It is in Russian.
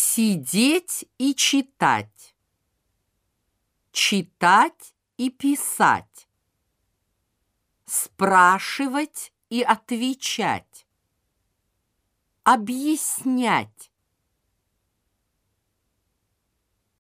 Сидеть и читать. Читать и писать. Спрашивать и отвечать. Объяснять.